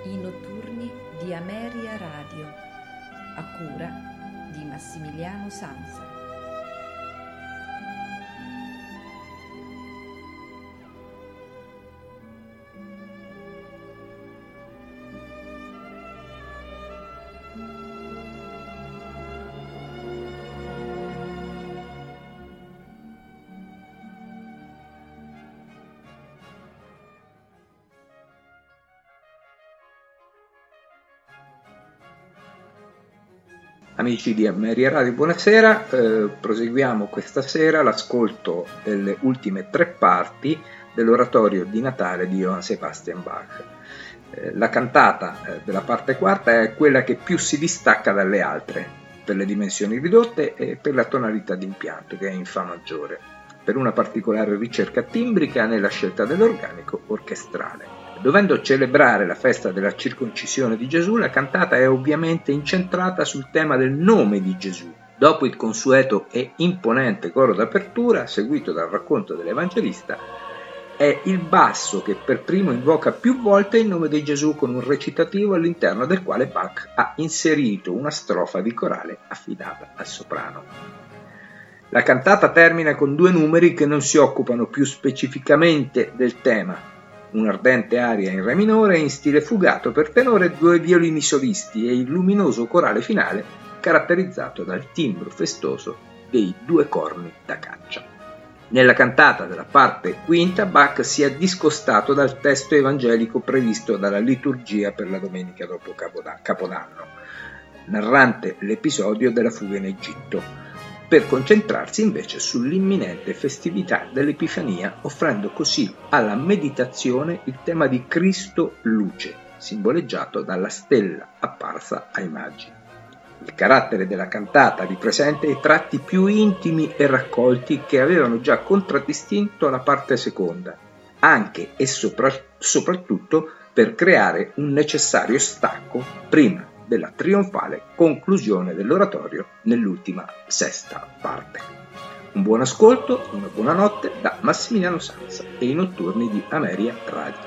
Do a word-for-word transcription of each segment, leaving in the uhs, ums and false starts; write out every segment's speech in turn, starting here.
I notturni di Ameria Radio, a cura di Massimiliano Sanza. Amici di Ameria Radio, buonasera. Eh, proseguiamo questa sera l'ascolto delle ultime tre parti dell'oratorio di Natale di Johann Sebastian Bach. Eh, la cantata eh, della parte quarta è quella che più si distacca dalle altre, per le dimensioni ridotte e per la tonalità d'impianto, che è in Fa maggiore, per una particolare ricerca timbrica nella scelta dell'organico orchestrale. Dovendo celebrare la festa della circoncisione di Gesù, la cantata è ovviamente incentrata sul tema del nome di Gesù. Dopo il consueto e imponente coro d'apertura, seguito dal racconto dell'Evangelista, è il basso che per primo invoca più volte il nome di Gesù con un recitativo all'interno del quale Bach ha inserito una strofa di corale affidata al soprano. La cantata termina con due numeri che non si occupano più specificamente del tema: un'ardente aria in re minore in stile fugato per tenore, due violini solisti e il luminoso corale finale caratterizzato dal timbro festoso dei due corni da caccia. Nella cantata della parte quinta Bach si è discostato dal testo evangelico previsto dalla liturgia per la domenica dopo Capodanno, narrante l'episodio della fuga in Egitto, per concentrarsi invece sull'imminente festività dell'Epifania, offrendo così alla meditazione il tema di Cristo luce, simboleggiato dalla stella apparsa ai magi. Il carattere della cantata ripresenta i tratti più intimi e raccolti che avevano già contraddistinto la parte seconda, anche e sopra- soprattutto per creare un necessario stacco prima della trionfale conclusione dell'oratorio nell'ultima sesta parte. Un buon ascolto, una buona notte da Massimiliano Sanza e i notturni di Ameria Radio.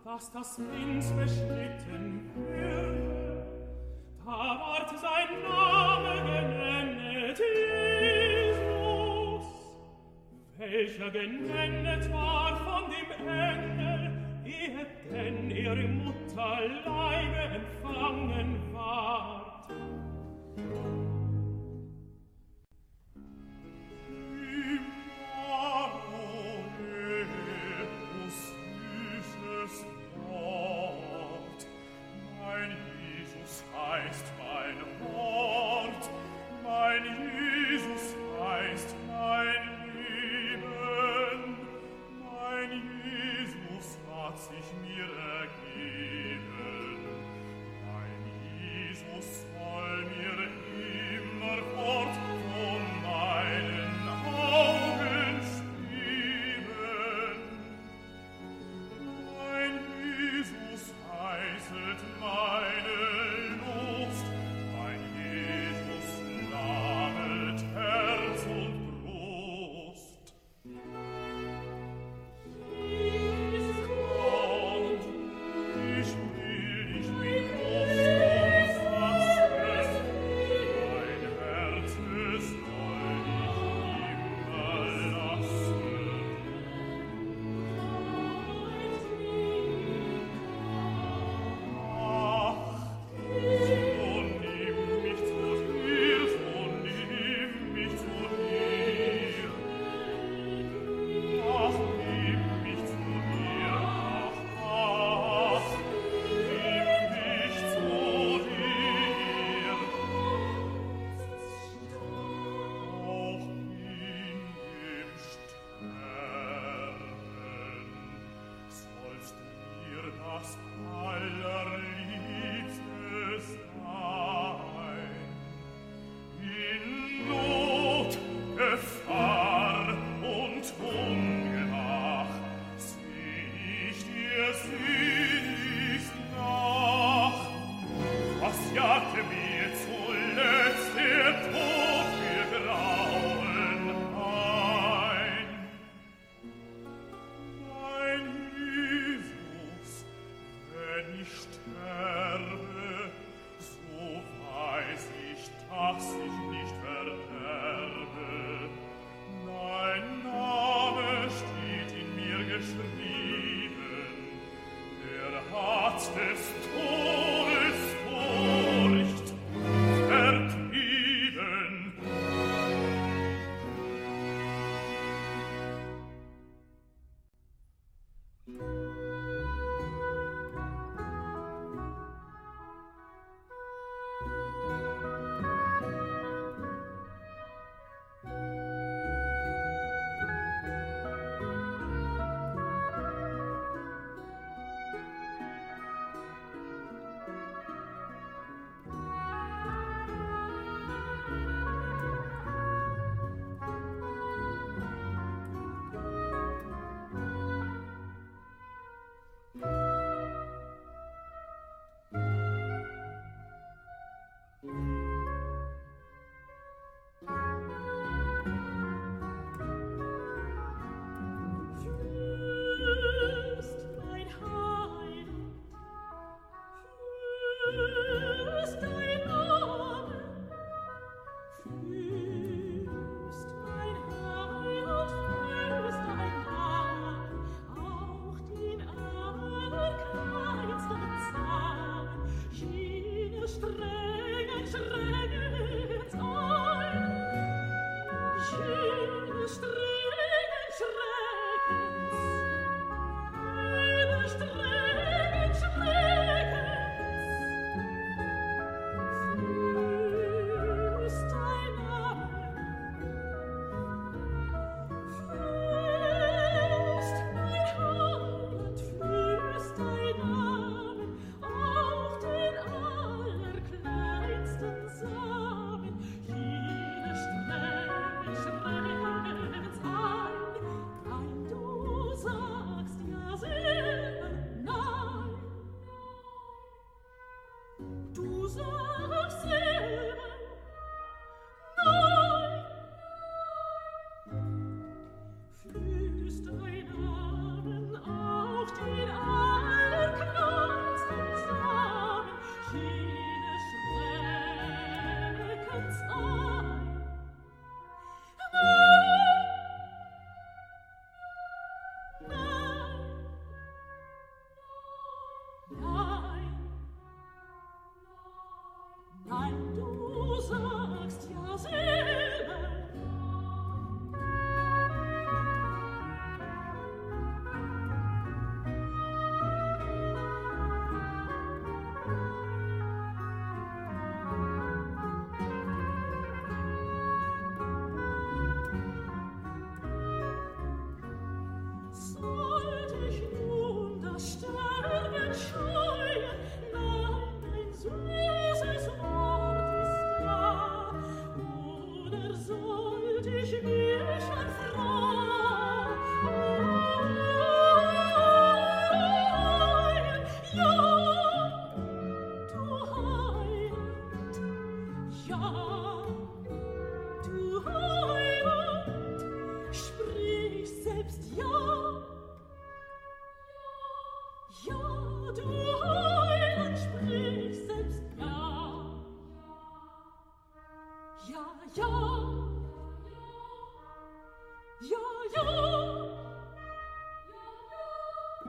dass das Wind beschnitten würde, da ward sein Name genennet Jesus, welcher genennet war von dem Engel, ehe denn er im Mutterleibe empfangen ward.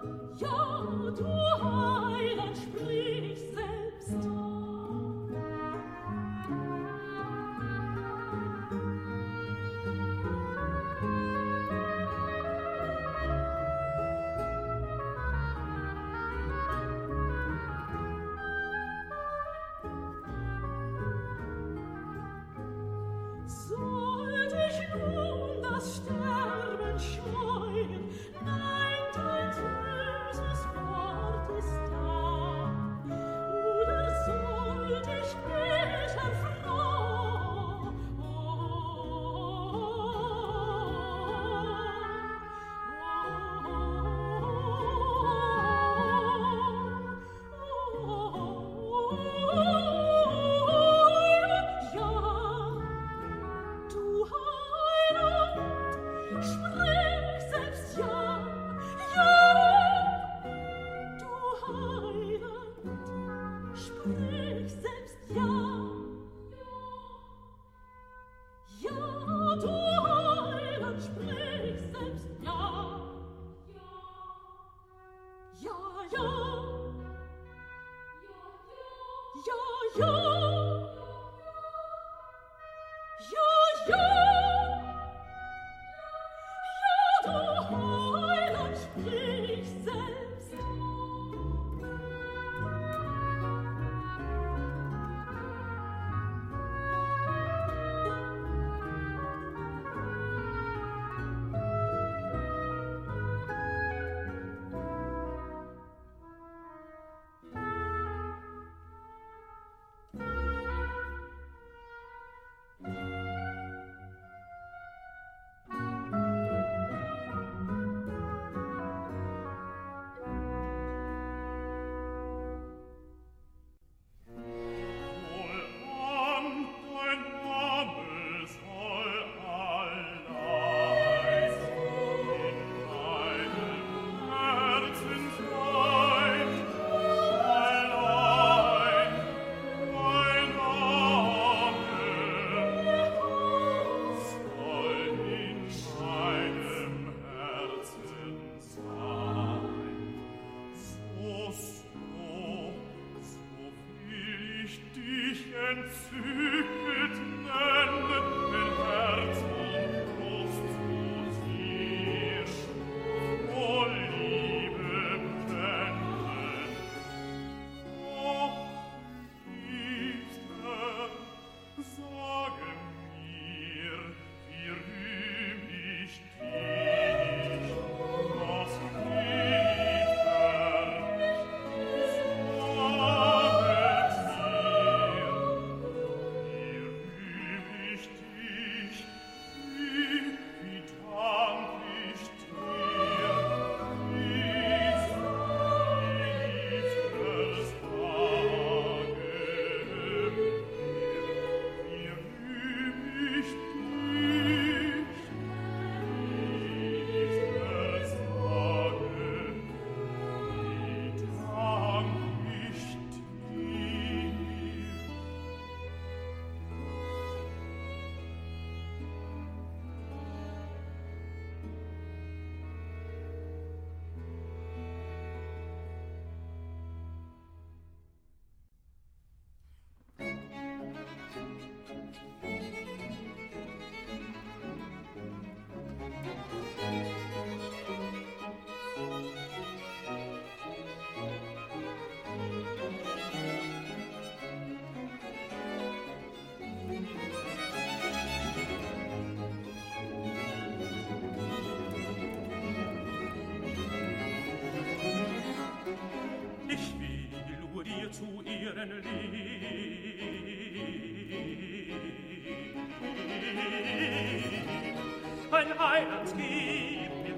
Ein Heiland gib mir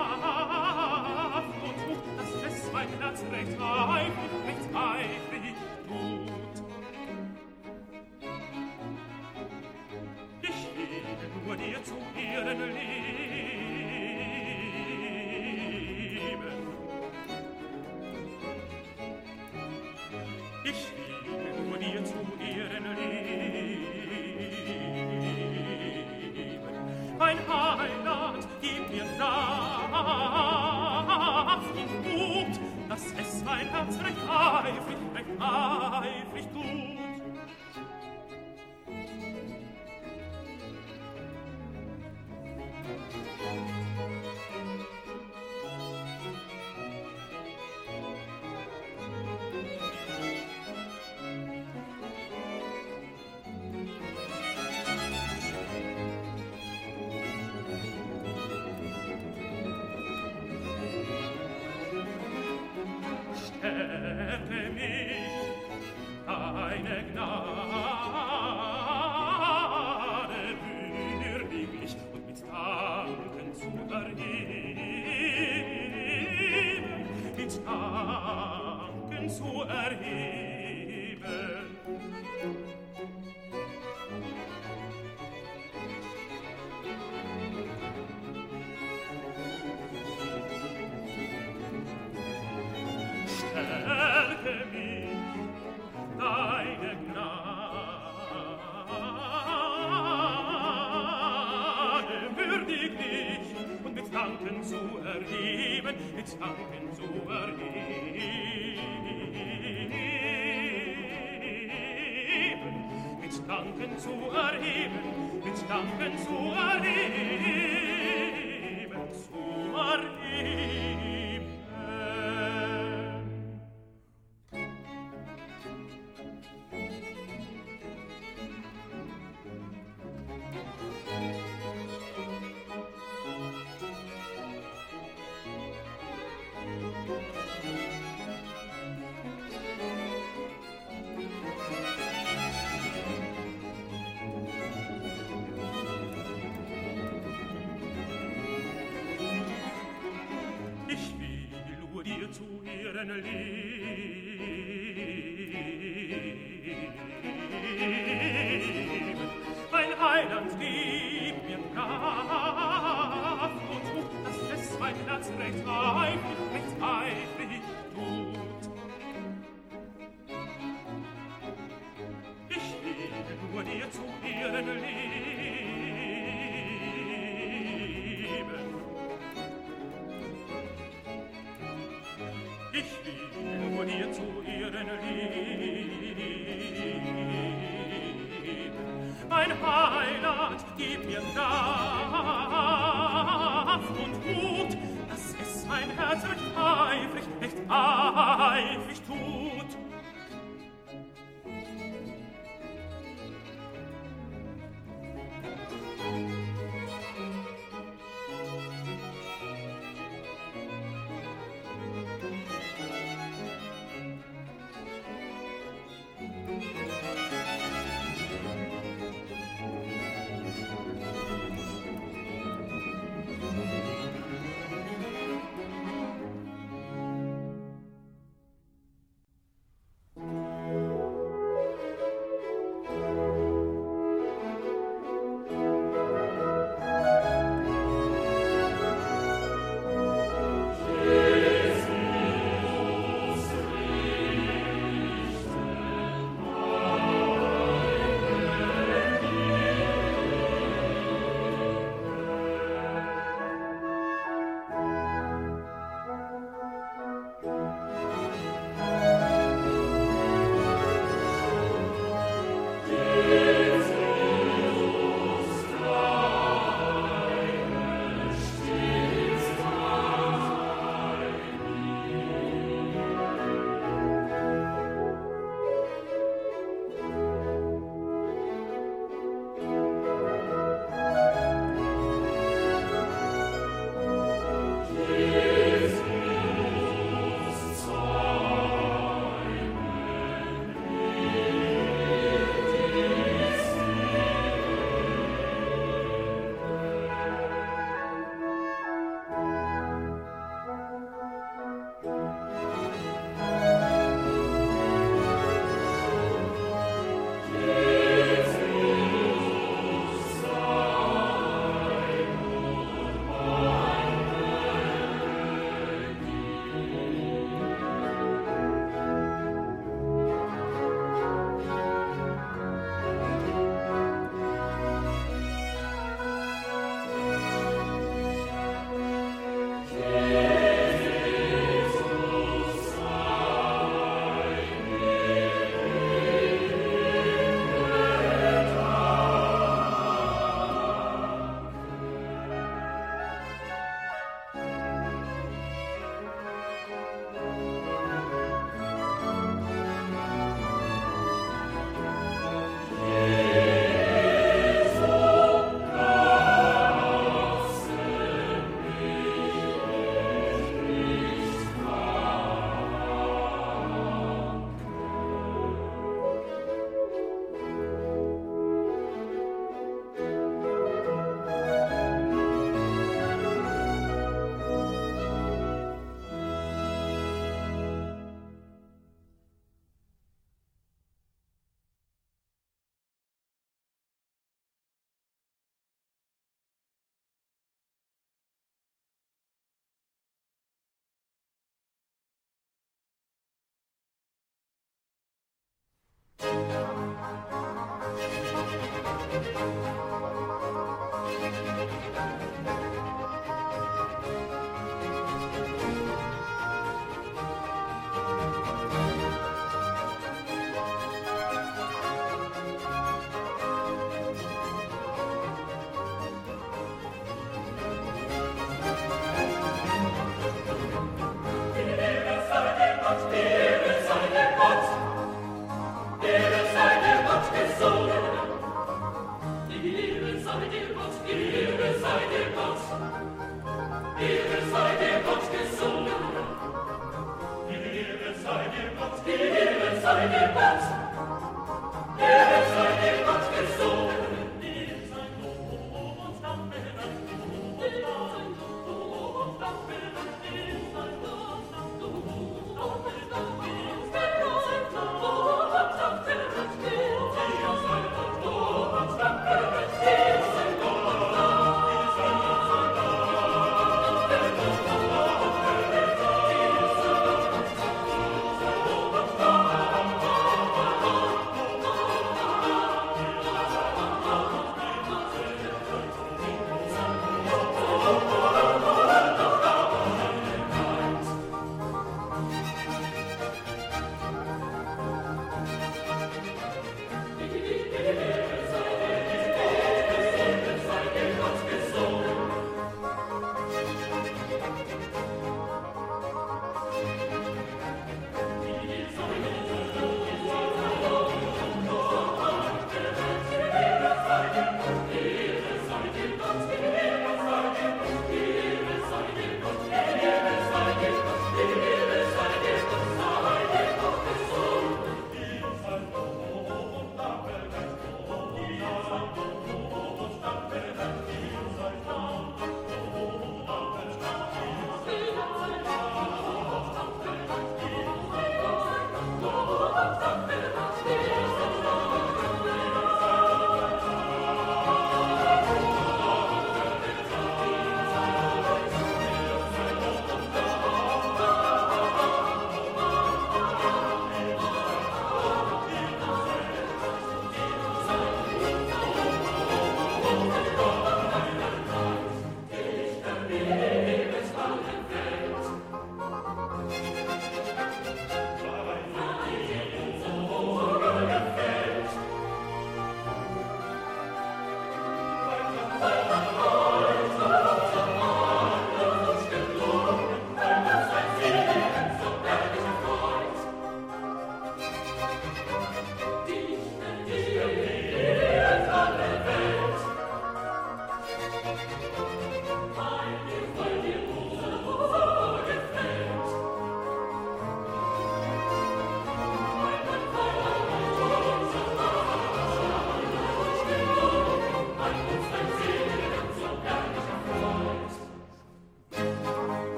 Kraft und tut, dass es mein Herz recht eifrig, recht eifrig tut. Ich will nur dir zu Ehren leben. Ich will nur dir zu Ehren leben. Mein Heiland, gib mein Herz recht eifrig, recht eifrig tut. Stärke mich, deine Gnade würdiglich und mit Danken zu erheben, mit Danken zu erheben. Stärke mich, deine Gnade würdiglich und mit Danken zu erheben, mit Danken zu erheben, mit Danken zu erheben, mit Danken zu erheben, zu erheben. Ich will nur dir zu Ehren leben. Mein Heiland, gib mir Kraft und Mut, dass es mein Herz recht eifrig, recht eifrig tut. Ich will nur dir zu Ehren leben. Ich will nur dir zu Ehren leben. Mein Heiland, gib mir Kraft und Mut, dass es mein Herz recht eifrig, recht eifrig tut.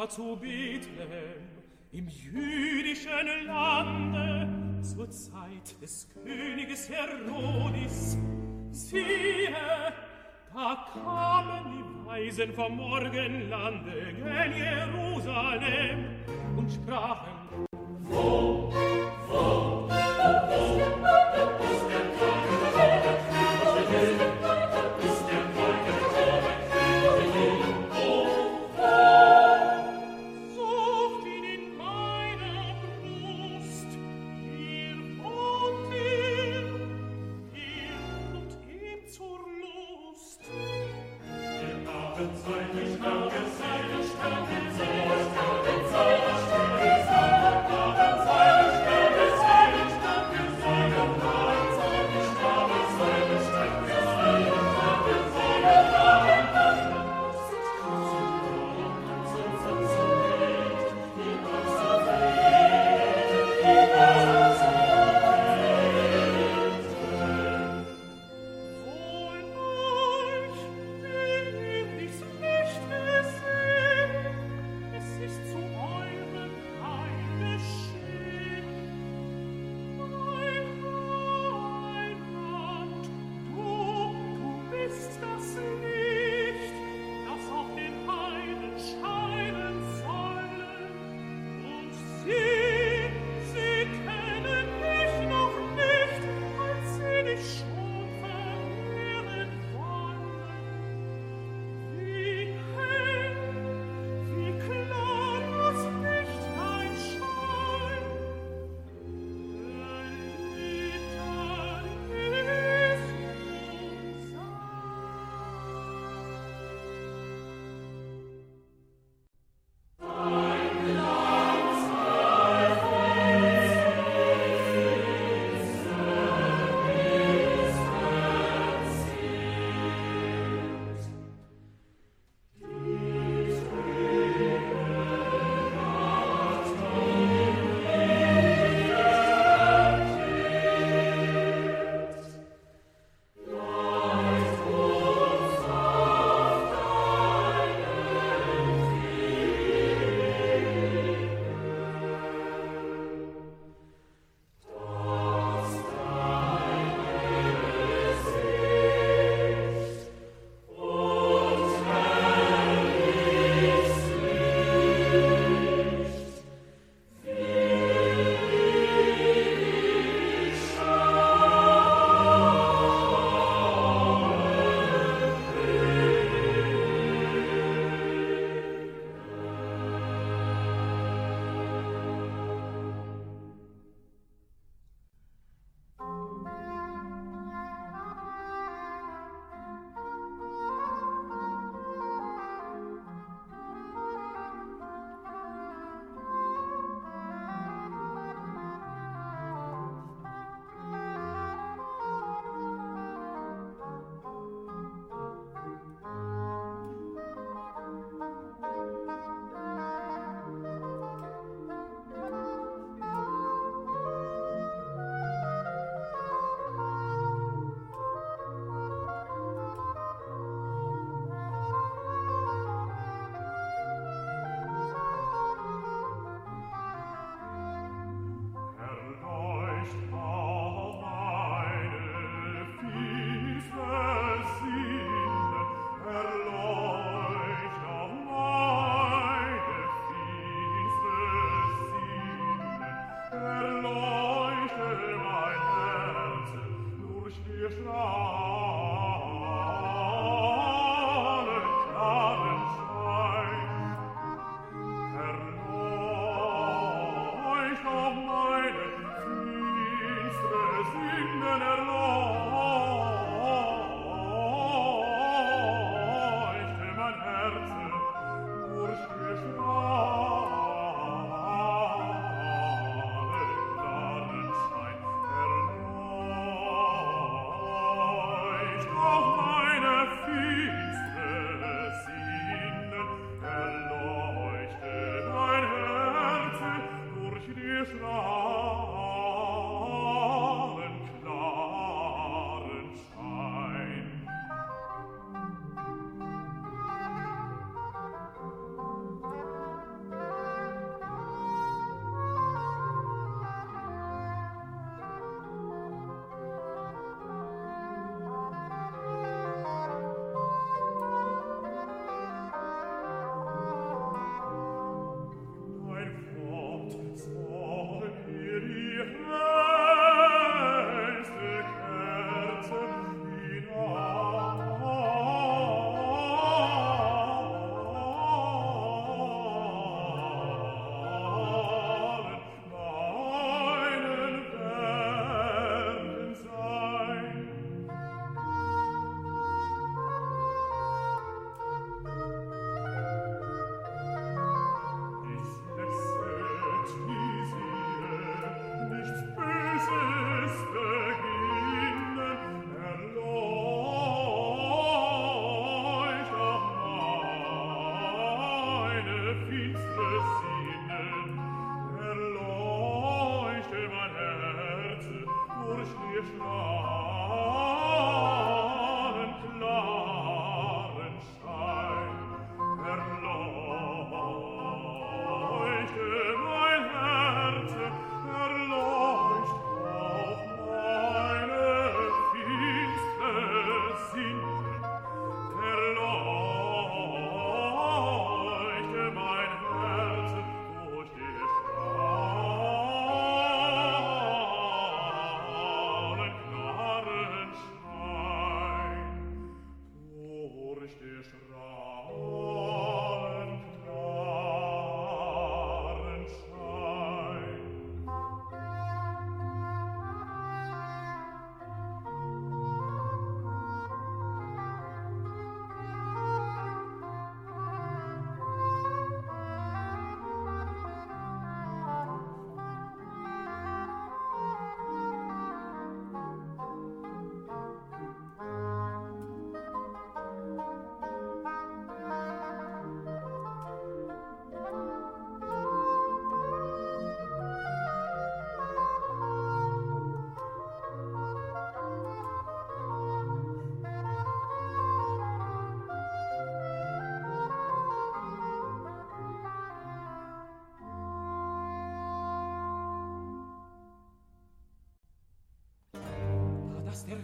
zu Bethlehem, im jüdischen Lande, zur Zeit des Königes Herodis. Siehe, da kamen die Weisen vom Morgenlande gen Jerusalem und sprachen: Wo, wo, wo ist der Morgen, wo ist der Morgen, wo ist der Morgen, wo ist der Morgen, wo, wo, sucht ihn in meiner Brust, ihr und ihr, ihr und ihm zur Lust. Wir haben seine Stärke, seine Stärke, seine Stärke, seine Stärke, seine Stärke, seine Stärke, seine Stärke, seine Stärke, seine Stärke, seine Stärke, seine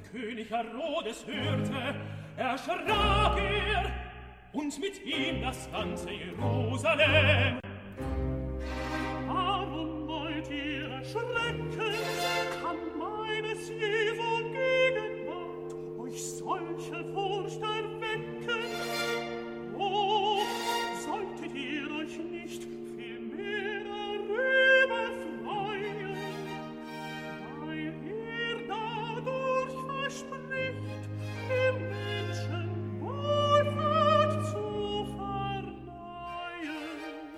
König Herodes hörte, erschrak er, und mit ihm das ganze Jerusalem. Warum wollt ihr erschrecken? Kann meines Jesu Gegenwart euch solche Furcht erwecken? Oh, solltet ihr euch nicht viel mehr darüber freuen, weil ihr dadurch verspricht, dem Menschen Wohlfahrt zu verleihen.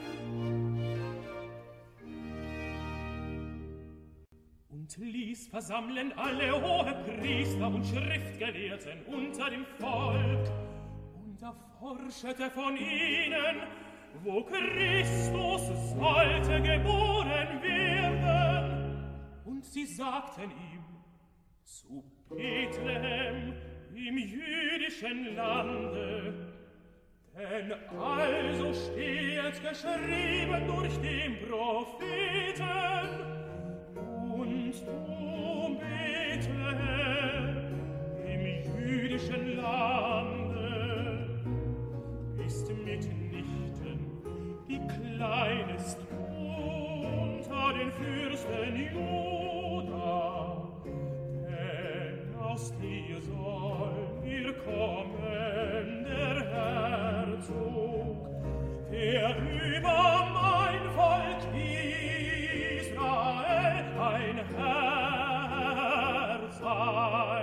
Und ließ versammeln alle Hohepriester und Schriftgelehrten unter dem Volk und erforschete von ihnen, wo Christus sollte geboren werden. Und sie sagten ihm, zu Bethlehem im jüdischen Lande, denn also steht geschrieben durch den Propheten, und du, Bethlehem, im jüdischen Lande, bist mitnichten die kleinest unter den Fürsten Juda, denn aus dir soll ihr kommen, der Herzog, der über mein Volk Israel ein Herr sei.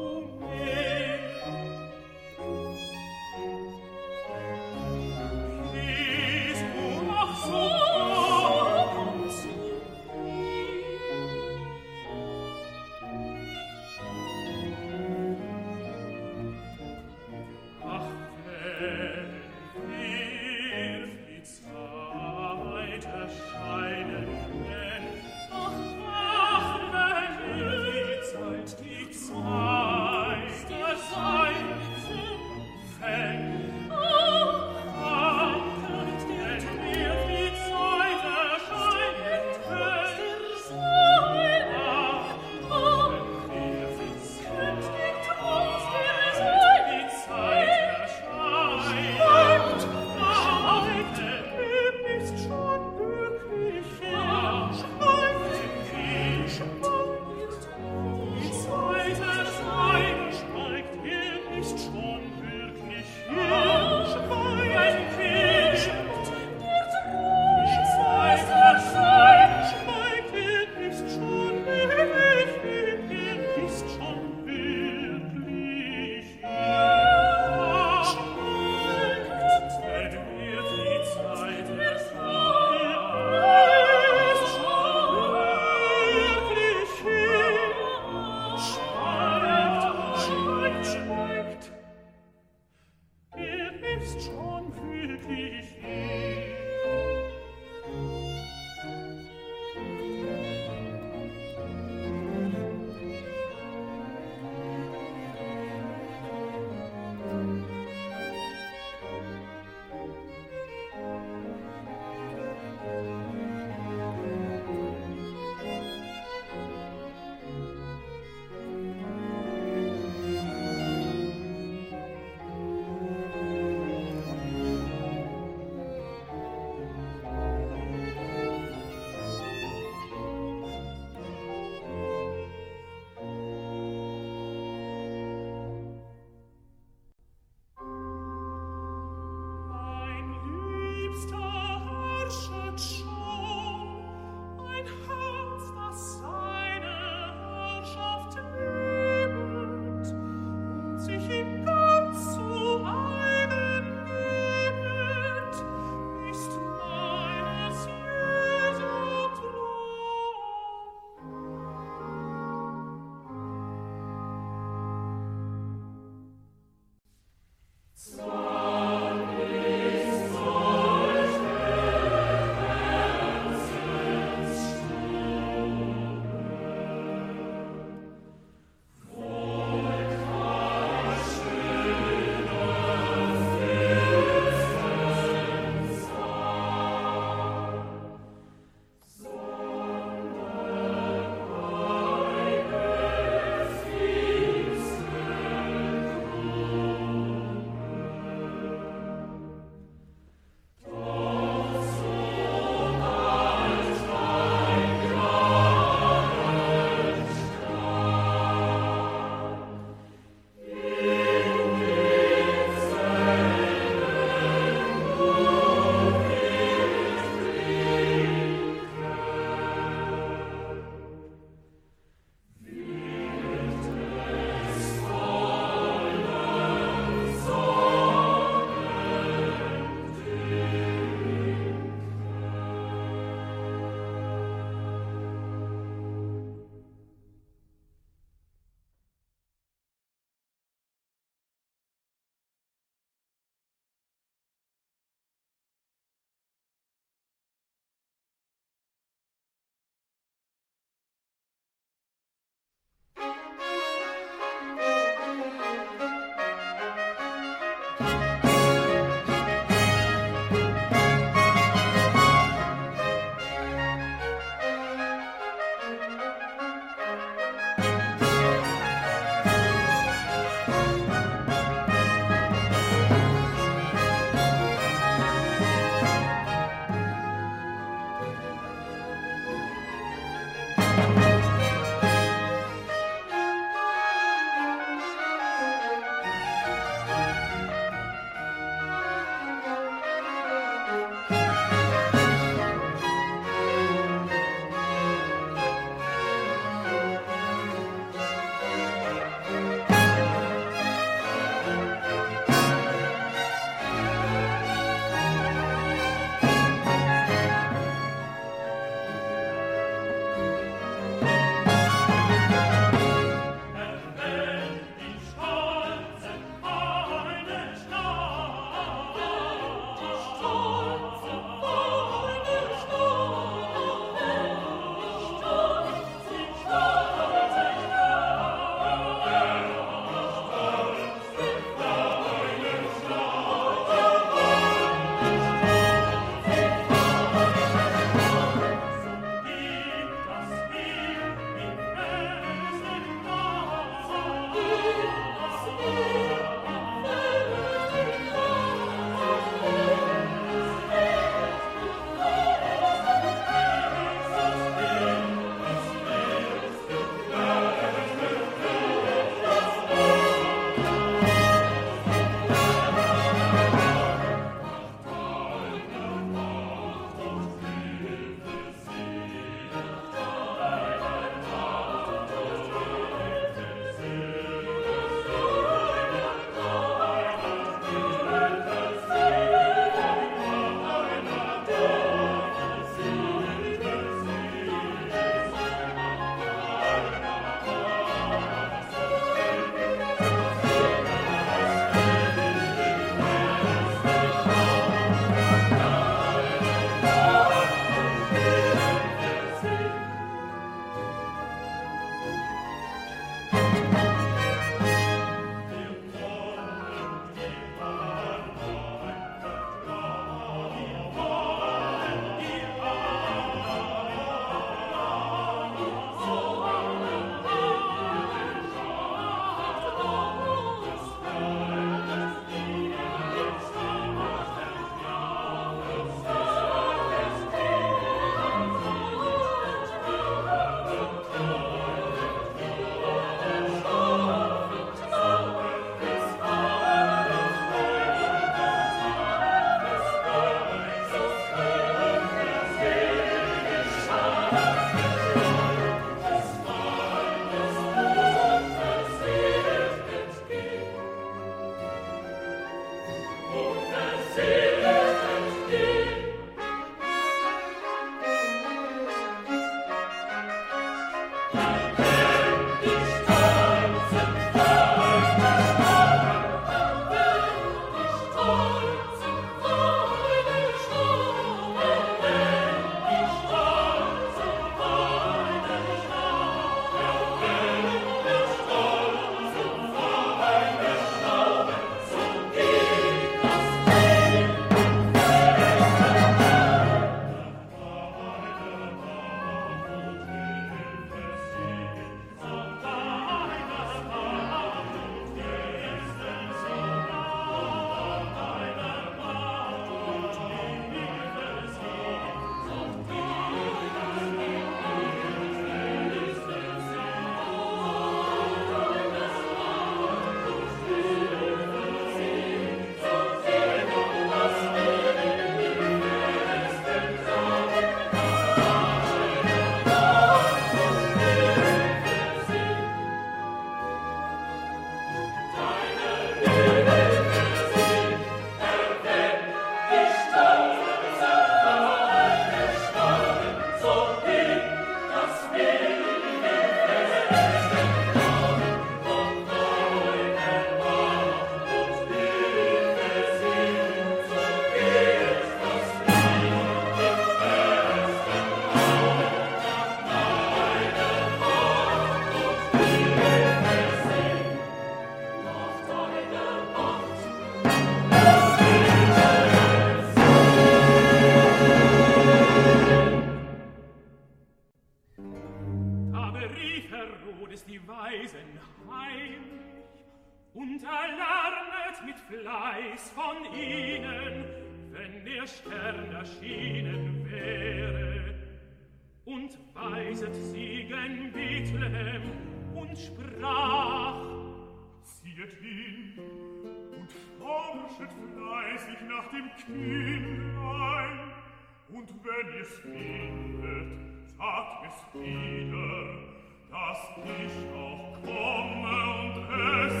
und erlernet mit Fleiß von ihnen, wenn der Stern erschienen wäre. Und weiset sie gen Bethlehem und sprach: Ziehet hin und forschet fleißig nach dem Kindlein, und wenn ihr's findet, sagt es wieder, dass ich auch komme und es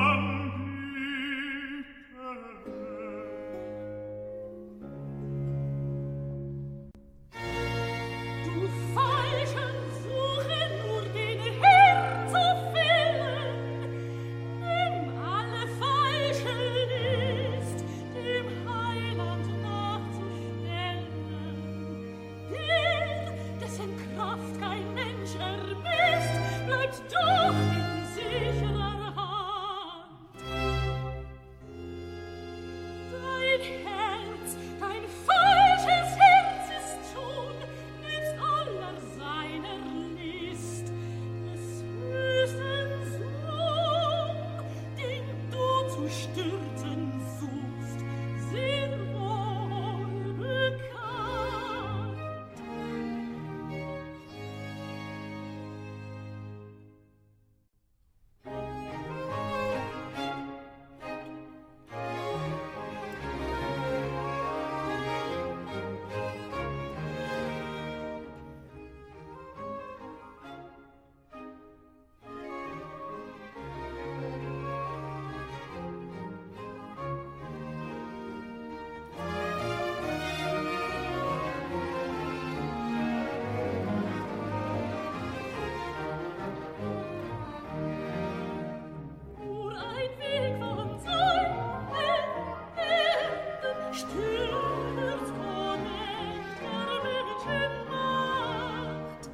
anbiete. Du Falschen, suche nur den Herrn zu fällen, dem alle Falschen ist, dem Heiland nachzustellen. Der, dessen Kraft kein Mensch ermisst, bleibt doch in sicherer Hand. Dein Herz, dein falsches Herz ist schon, nebst aller seiner List, des höchsten Sohn, den du zu stürzen suchst, sehr wohl bekannt. Nur ein Weg von seinen Händen stürzt vor mächtiger Menschenmacht.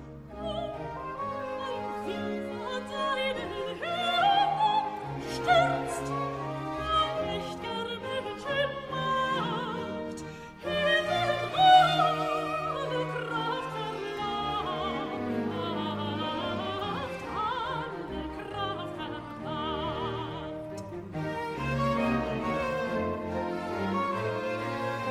Ein Weg von seinen Händen stürzt vor mächtiger Menschenmacht. Himmel alle Kraft verlangt, alle Kraft verlangt.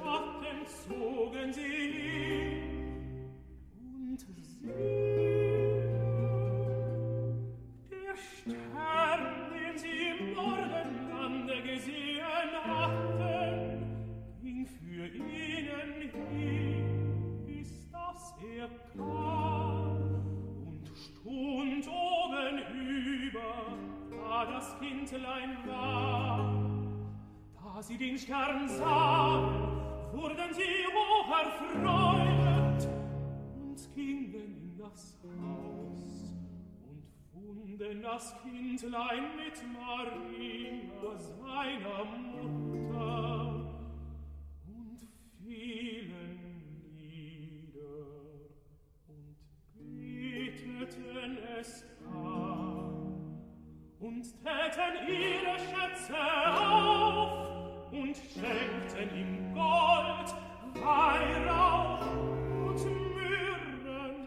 Schatten zogen sie hin, und siehe, der Stern, den sie im Morgenlande gesehen hatten, ging für ihnen hin, bis dass er kam und stund oben über, da das Kindlein war. Da sie den Stern sahen, wurden sie hoch erfreut und gingen in das Haus und funden das Kindlein mit Maria, seiner Mutter, und fielen nieder und beteten es an und täten ihre Schätze auf und schenkten ihm Gold, Weihrauch und Myrrhen.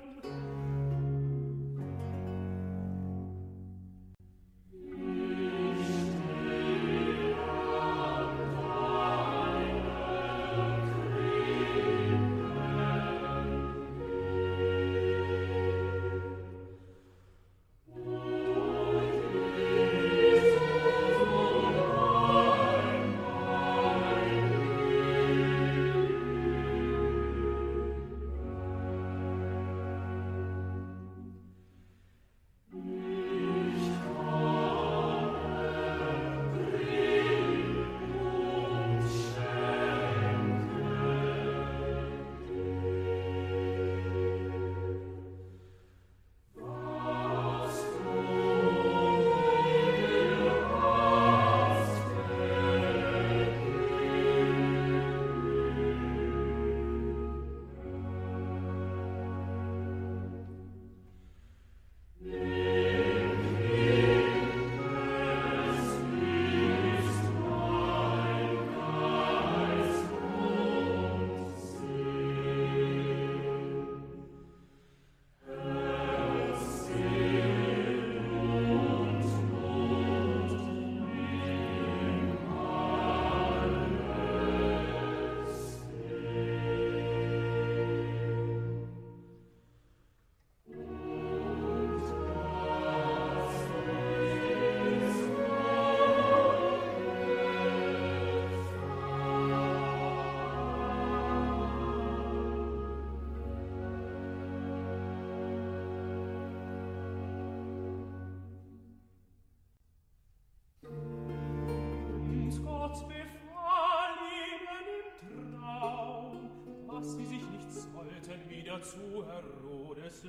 Zu Herodes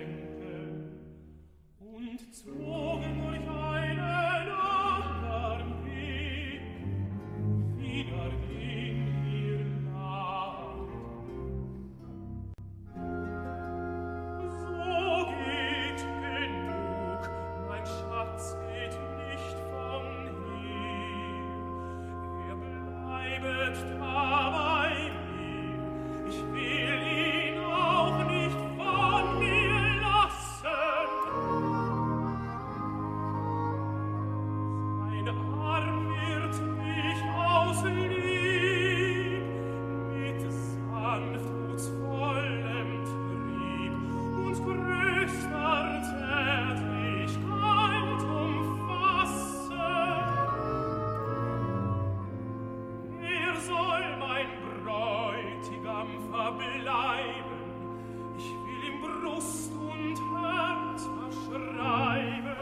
lenken und zogen durch einen anderen Weg wieder in ihr Land. So geht genug, mein Schatz geht nicht von hier, er bleibet da bei mir, ich will ihn auch nicht von mir lassen. Sein Arm wird mich aus Lieb mit sanftmutsvollem Trieb und größter Zärtlichkeit umfassen. Er soll mein Bräutigam verbleiben, ich will ihm Brust und Herz verschreiben.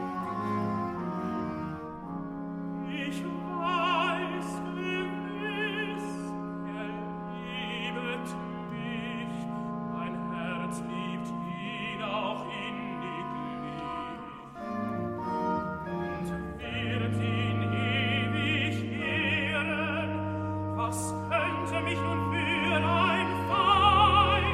Ich weiß gewiss, er liebet mich, mein Herz liebt ihn auch inniglich und wird ihn ewig ehren. Was könnte mich nun für ein Feind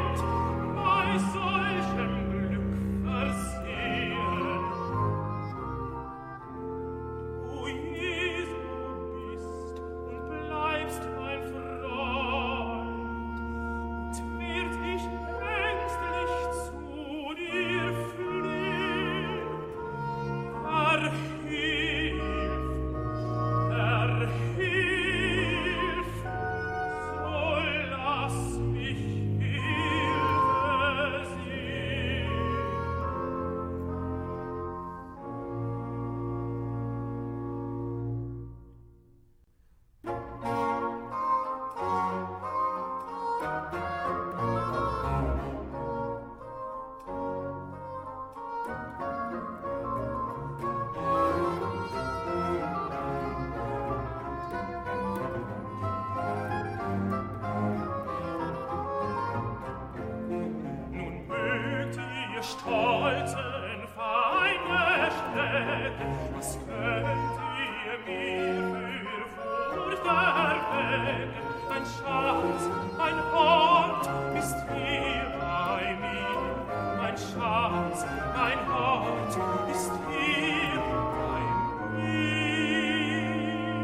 stolzen Feinde stecken, was könnt ihr mir für Furcht erwecken? Mein Schatz, mein Hort ist hier bei mir, mein Schatz, mein Hort ist hier bei mir.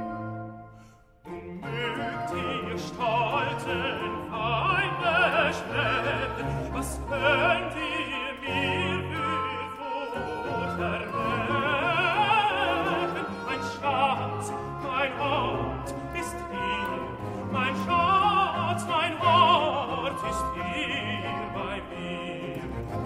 Mögt ihr stolzen Feinde schrecken, was könnt ihr mir für Furcht erwecken? Mein Schatz, mein Hort ist hier, mein Schatz, mein Hort ist hier bei mir.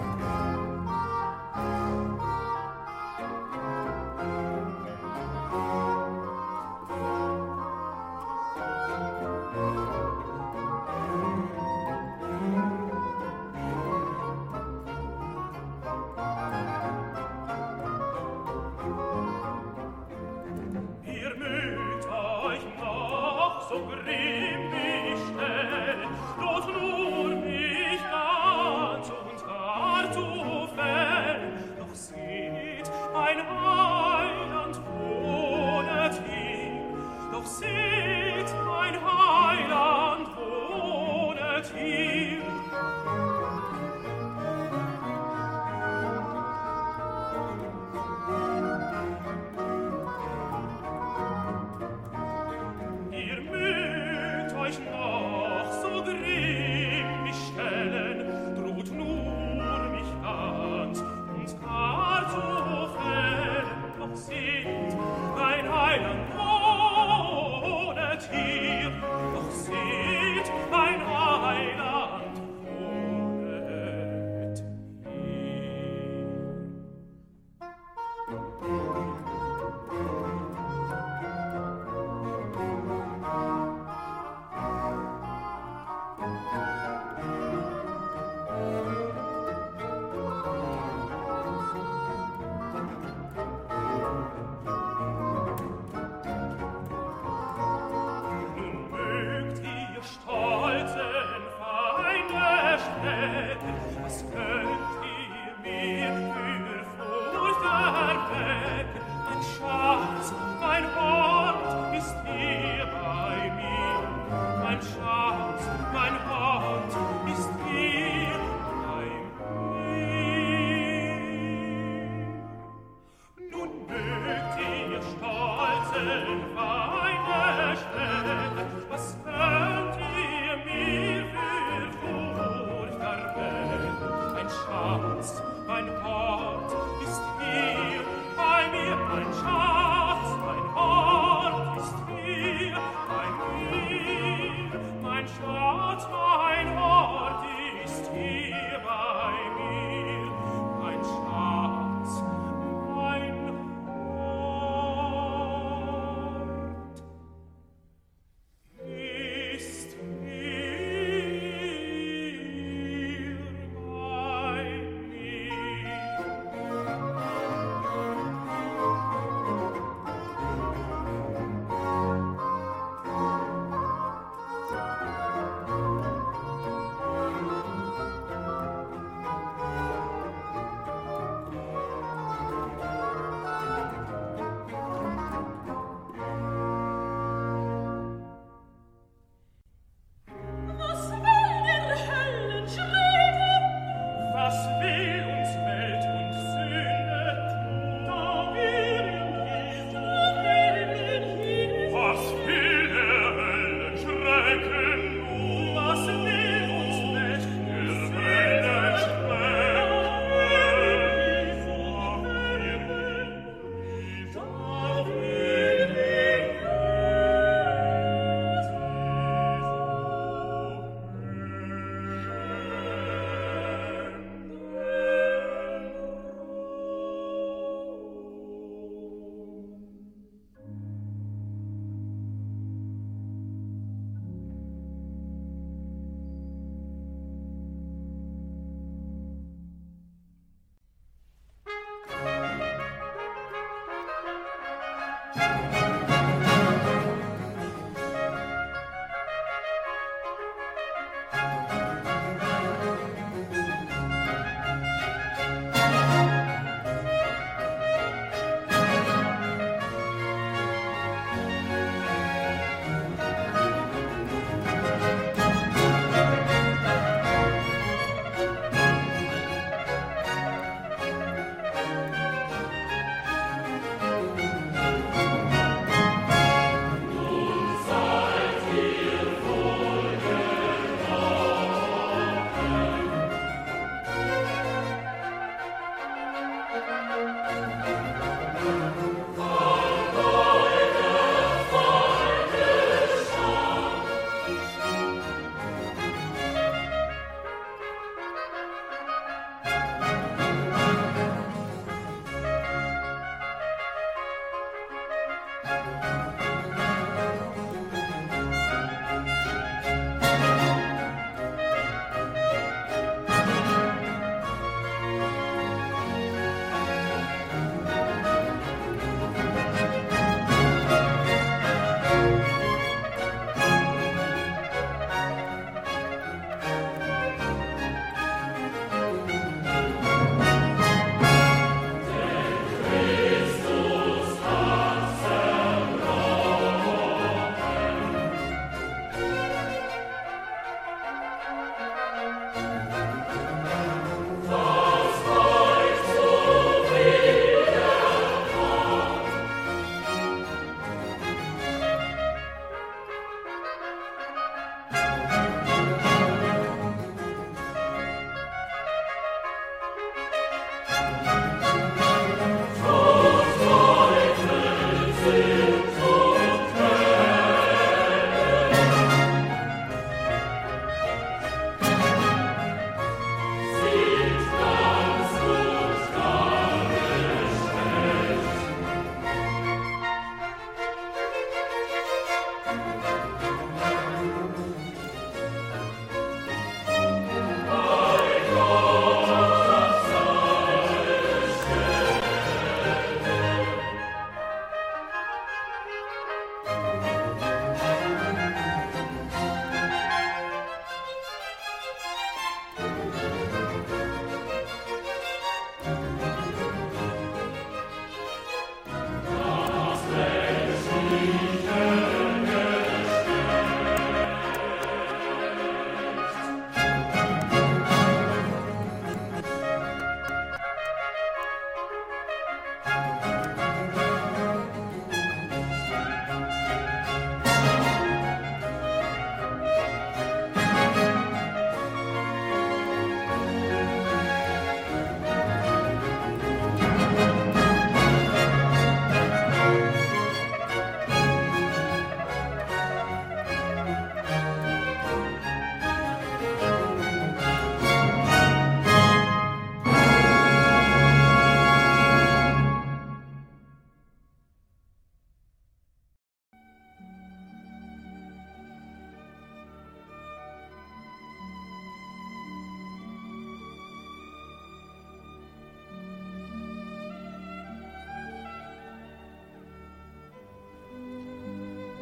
Ihr mögt euch noch so grimmig stellen, droht nur mich ganz und gar zu fällen. Doch seht, mein Heiland wohnet hier, doch seht, mein Heiland wohnet hier. Ihr mögt euch noch so grimmig stellen, droht nur mich ganz und gar zu fällen. Doch seht, mein Heiland wohnet hier, doch seht, mein Heiland wohnet hier. Nun mögt ihr stolzen Feinde strecken, was könnt ihr mir für Furcht erwecken? Mein Schatz, mein Hort ist hier bei mir, mein Schatz, mein Hort ist hier bei mir. Nun mögt ihr stolzen Feinde strecken, was könnt ihr mir für Furcht erwecken? Mein Schatz, mein Hort ist hier bei mir, mein Schatz, mein Hort ist hier bei mir, mein Schatz, mein Hort ist hier bei mir, mein Schatz, mein Hort ist hier bei mir.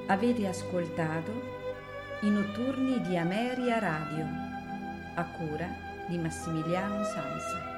Avete ascoltato I notturni di Ameria Radio, a cura di Massimiliano Sanza.